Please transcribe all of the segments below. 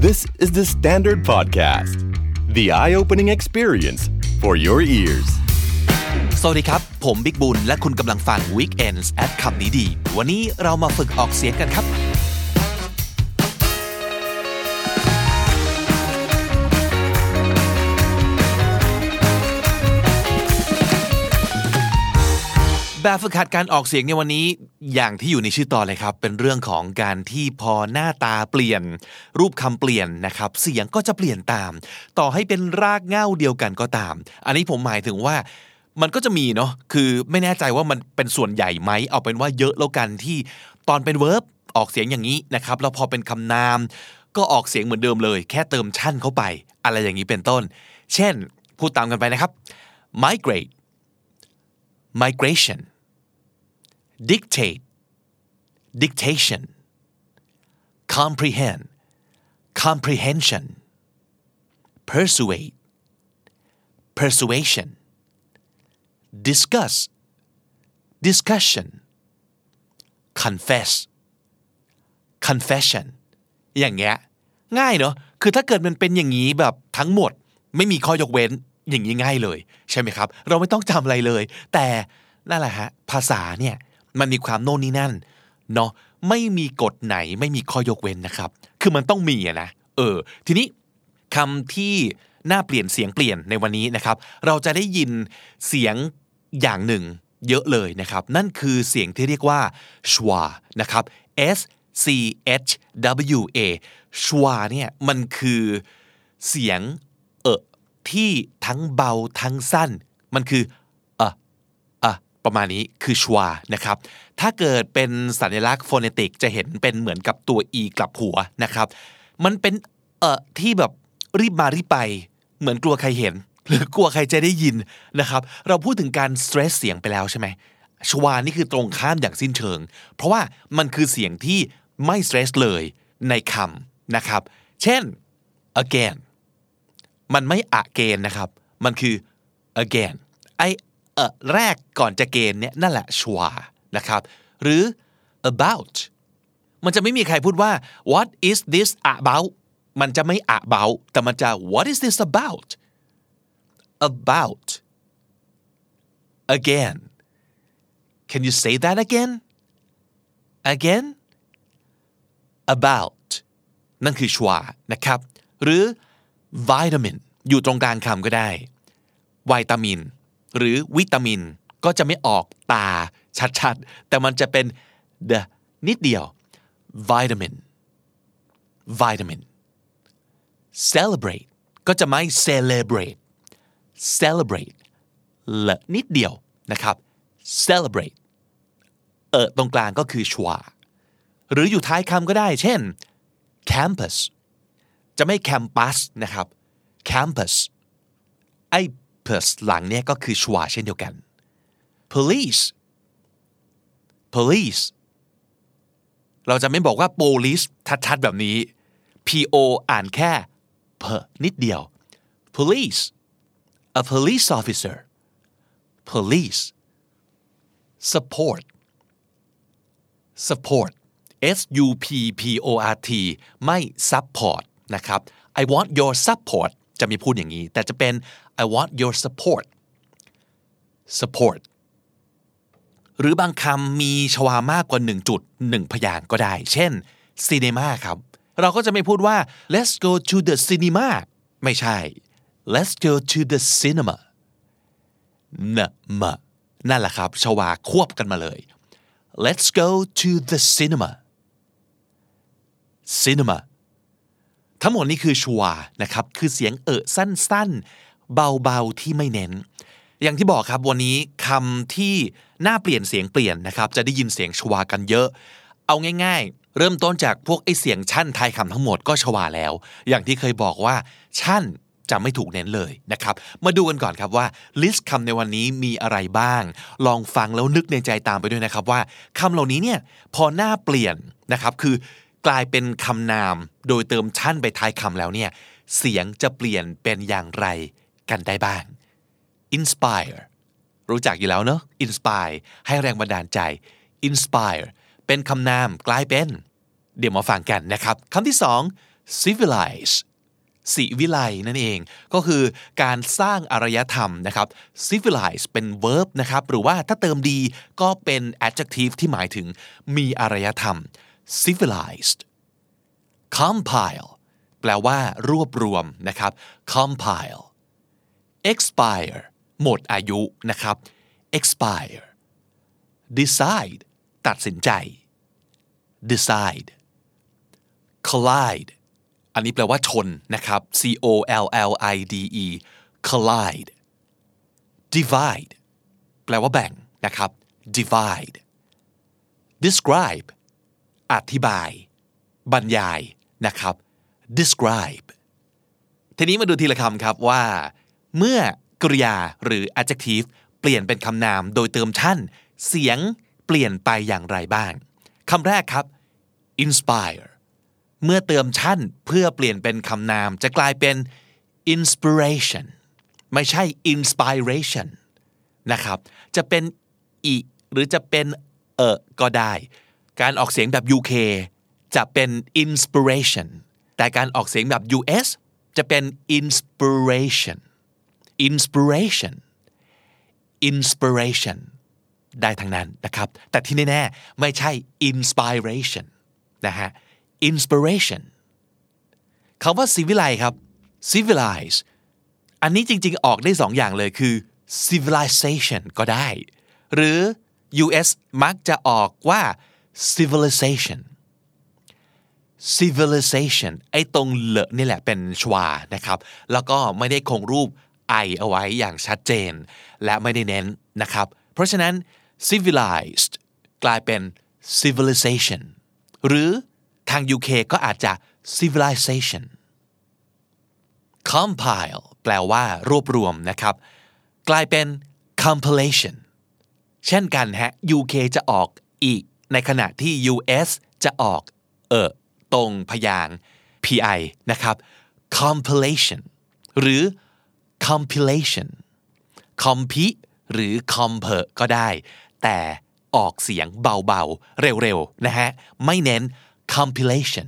This is the Standard Podcast, the eye-opening experience for your ears. สวัสดีครับผมบิ๊กบุญและคุณกำลังฟัง Weekends at คำนี้ดีวันนี้เรามาฝึกออกเสียงกันครับแบบฝึกหัดการออกเสียงในวันนี้อย่างที่อยู่ในชื่อตอนเลยครับเป็นเรื่องของการที่พอหน้าตาเปลี่ยนรูปคำเปลี่ยนนะครับเสียงก็จะเปลี่ยนตามต่อให้เป็นรากเหง้าเดียวกันก็ตามอันนี้ผมหมายถึงว่ามันก็จะมีเนาะคือไม่แน่ใจว่ามันเป็นส่วนใหญ่ไหมเอาเป็นว่าเยอะแล้วกันที่ตอนเป็น verb ออกเสียงอย่างนี้นะครับแล้วพอเป็นคำนามก็ออกเสียงเหมือนเดิมเลยแค่เติมชั่นเข้าไปอะไรอย่างนี้เป็นต้นเช่นพูดตามกันไปนะครับ migrate migration dictate dictation comprehend comprehension persuade persuasion discuss discussion confess confession อย่างเงี้ยง่ายเนอะคือถ้าเกิดมันเป็นอย่างนี้แบบทั้งหมดไม่มีข้อยกเว้นอย่างนี้ง่ายเลยใช่ไหมครับเราไม่ต้องจำอะไรเลยแต่นั่นแหละฮะภาษาเนี่ยมันมีความโน่นนี่นั่นเนาะไม่มีกฎไหนไม่มีข้อยกเว้นนะครับคือมันต้องมีนะทีนี้คำที่น่าเปลี่ยนเสียงเปลี่ยนในวันนี้นะครับเราจะได้ยินเสียงอย่างหนึ่งเยอะเลยนะครับนั่นคือเสียงที่เรียกว่า schwa นะครับ S C H W A schwa เนี่ยมันคือเสียงที่ทั้งเบาทั้งสั้นมันคือประมาณนี้คือชวานะครับถ้าเกิดเป็นสัญลักษณ์โฟเนติกจะเห็นเป็นเหมือนกับตัว e กลับหัวนะครับมันเป็นที่แบบรีบมารีบไปเหมือนกลัวใครเห็นหรือกลัวใครจะได้ยินนะครับเราพูดถึงการสเตรสเสียงไปแล้วใช่ไหมชวานี่คือตรงข้ามอย่างสิ้นเชิงเพราะว่ามันคือเสียงที่ไม่สเตรสเลยในคำนะครับเช่น again มันไม่ again นะครับมันคือ againแรกก่อนจะเกณฑ์เนี่ยนั่นแหละชัวนะครับหรือ about มันจะไม่มีใครพูดว่า what is this about มันจะไม่ about แต่มันจะ what is this about again can you say that again about นั่นคือชัวนะครับหรือ vitamin อยู่ตรงกลางคำก็ได้วิตามินหรือวิตามินก็จะไม่ออกตาชัดๆแต่มันจะเป็น the นิดเดียว vitamin celebrate ก็จะไม่ celebrate ละนิดเดียวนะครับ celebrate ตรงกลางก็คือชวาหรืออยู่ท้ายคำก็ได้เช่น campus จะไม่ campus นะครับ campusหลังเนี่ยก็คือชวาเช่นเดียวกัน police เราจะไม่บอกว่า police ชัดๆแบบนี้ po อ่านแค่เพนิดเดียว police a police officer police support S U P P O R T ไม่ support นะครับ I want your support จะมีพูดอย่างนี้แต่จะเป็น I want your support หรือบางคำมีชวามากกว่า1จุด1พยางค์ก็ได้เช่น cinema ครับเราก็จะไม่พูดว่า let's go to the cinema ไม่ใช่ let's go to the cinema นั่นแหละครับชวาควบกันมาเลย let's go to the cinema ทั้งหมดนี้คือชวานะครับคือเสียงสั้นๆเบาๆที่ไม่เน้นอย่างที่บอกครับวันนี้คำที่น่าเปลี่ยนเสียงเปลี่ยนนะครับจะได้ยินเสียงชวากันเยอะเอาง่ายๆเริ่มต้นจากพวกไอ้เสียงชั่นท้ายคำทั้งหมดก็ชวาแล้วอย่างที่เคยบอกว่าชั่นจะไม่ถูกเน้นเลยนะครับมาดูกันก่อนครับว่าลิสต์คำในวันนี้มีอะไรบ้างลองฟังแล้วนึกในใจตามไปด้วยนะครับว่าคำเหล่านี้เนี่ยพอหน้าเปลี่ยนนะครับคือกลายเป็นคำนามโดยเติมชั่นไปท้ายคำแล้วเนี่ยเสียงจะเปลี่ยนเป็นอย่างไรกันได้บ้าง inspire รู้จักอยู่แล้วเนอะ inspire ให้แรงบันดาลใจ inspire เป็นคำนามกลายเป็นเดี๋ยวมาฟังกันนะครับคำที่สอง civilize ศิวิไลนั่นเองก็คือการสร้างอารยธรรมนะครับ civilize เป็น verb นะครับหรือว่าถ้าเติมดีก็เป็น adjective ที่หมายถึงมีอารยธรรม civilized compile แปลว่ารวบรวมนะครับ compile expire หมดอายุนะครับ expire decide ตัดสินใจ decide collide อันนี้แปลว่าชนนะครับ collide collide divide แปลว่าแบ่งนะครับ divide describe อธิบายบรรยายนะครับ describe ทีนี้มาดูทีละคำครับว่าเมื่อกริยาหรือ adjective เปลี่ยนเป็นคำนามโดยเติมท่านเสียงเปลี่ยนไปอย่างไรบ้างคำแรกครับ inspire เมื่อเติมท่านเพื่อเปลี่ยนเป็นคำนามจะกลายเป็น inspiration ไม่ใช่ inspiration นะครับจะเป็นอีหรือจะเป็นก็ได้การออกเสียงแบบ UK จะเป็น inspiration แต่การออกเสียงแบบ US จะเป็น inspirationได้ทั้งนั้นนะครับแต่ที่แน่ๆไม่ใช่ inspiration นะฮะ inspiration คำว่า civilize ครับ civilize อันนี้จริงๆออกได้สองอย่างเลยคือ civilization ก็ได้หรือ US มักจะออกว่า civilization ไอ้ตรงเลอะนี่แหละเป็นชวานะครับแล้วก็ไม่ได้คงรูปไอเอาไว้อย่างชัดเจนและไม่ได้เน้นนะครับเพราะฉะนั้น civilized กลายเป็น civilization หรือทาง UK ก็อาจจะ civilization compile แปลว่ารวบรวมนะครับกลายเป็น compilation เช่นกันฮะ UK จะออกอีกในขณะที่ US จะออกตรงพยางค์ PI นะครับ compilation หรือ compilation compi หรือ compare ก็ได้แต่ออกเสียงเบาๆเร็วๆนะฮะไม่เน้น compilation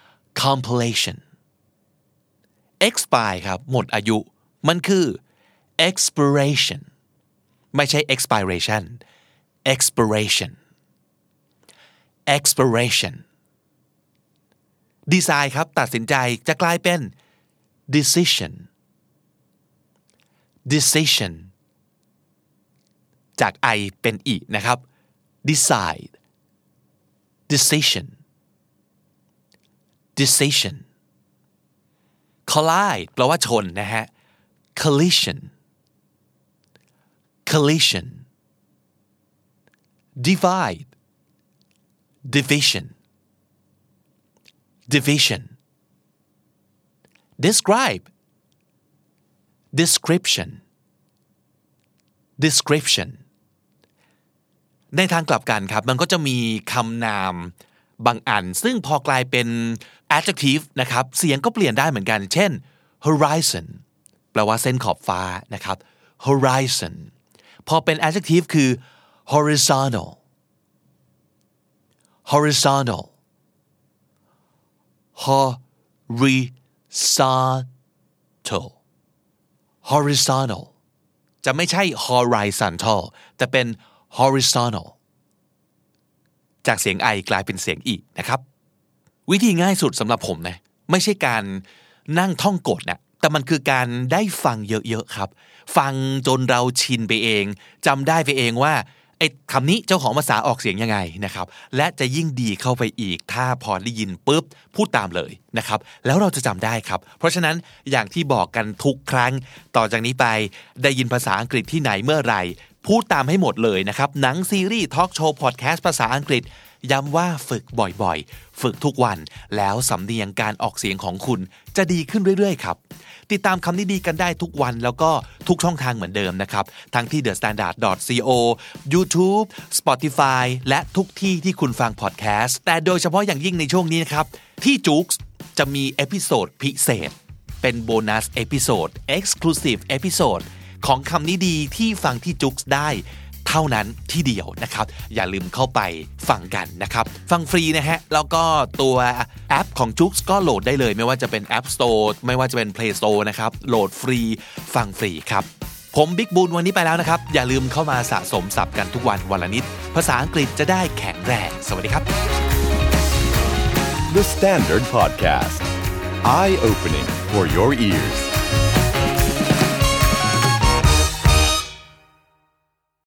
expire ครับหมดอายุมันคือ expiration ไม่ใช่ expiration decide ครับตัดสินใจจะกลายเป็น decision จาก I เป็น E นะครับ decide decision collide แปลว่าชนนะฮะ collision divide division describe description ในทางกลับกันครับมันก็จะมีคำนามบางอันซึ่งพอกลายเป็น adjective นะครับเสียงก็เปลี่ยนได้เหมือนกันเช่น horizon แปลว่าเส้นขอบฟ้านะครับ horizon พอเป็น adjective คือ horizontalจะไม่ใช่ horizontal แต่เป็น horizontal จากเสียง I กลายเป็นเสียง E นะครับวิธีง่ายสุดสำหรับผมนะไม่ใช่การนั่งท่องกฎนะแต่มันคือการได้ฟังเยอะๆครับฟังจนเราชินไปเองจำได้ไปเองว่าไอ้คำนี้เจ้าของภาษาออกเสียงยังไงนะครับและจะยิ่งดีเข้าไปอีกถ้าพอได้ยินปุ๊บพูดตามเลยนะครับแล้วเราจะจำได้ครับเพราะฉะนั้นอย่างที่บอกกันทุกครั้งต่อจากนี้ไปได้ยินภาษาอังกฤษที่ไหนเมื่อไหร่พูดตามให้หมดเลยนะครับหนังซีรีส์ทอล์กโชว์พอดแคสต์ภาษาอังกฤษย้ำว่าฝึกบ่อยๆฝึกทุกวันแล้วสำเนียงการออกเสียงของคุณจะดีขึ้นเรื่อยๆครับติดตามคำนี้ดีกันได้ทุกวันแล้วก็ทุกช่องทางเหมือนเดิมนะครับทั้งที่ thestandard.co YouTube Spotify และทุกที่ที่คุณฟังพอดแคสต์แต่โดยเฉพาะอย่างยิ่งในช่วงนี้นะครับที่จุ๊กจะมีเอพิโซดพิเศษเป็นโบนัสเอพิโซด Exclusive เอพิโซดของคำนี้ดีที่ฟังที่จุ๊กได้เท่านั้นที่เดียวนะครับอย่าลืมเข้าไปฟังกันนะครับฟังฟรีนะฮะแล้วก็ตัวแอปของ Joox ก็โหลดได้เลยไม่ว่าจะเป็น App Store ไม่ว่าจะเป็น Play Store นะครับโหลดฟรีฟังฟรีครับผมบิ๊กบูนวันนี้ไปแล้วนะครับอย่าลืมเข้ามาสะสมศัพท์กันทุกวันวันละนิดภาษาอังกฤษจะได้แข็งแรงสวัสดีครับ The Standard Podcast Eye Opening for Your Ears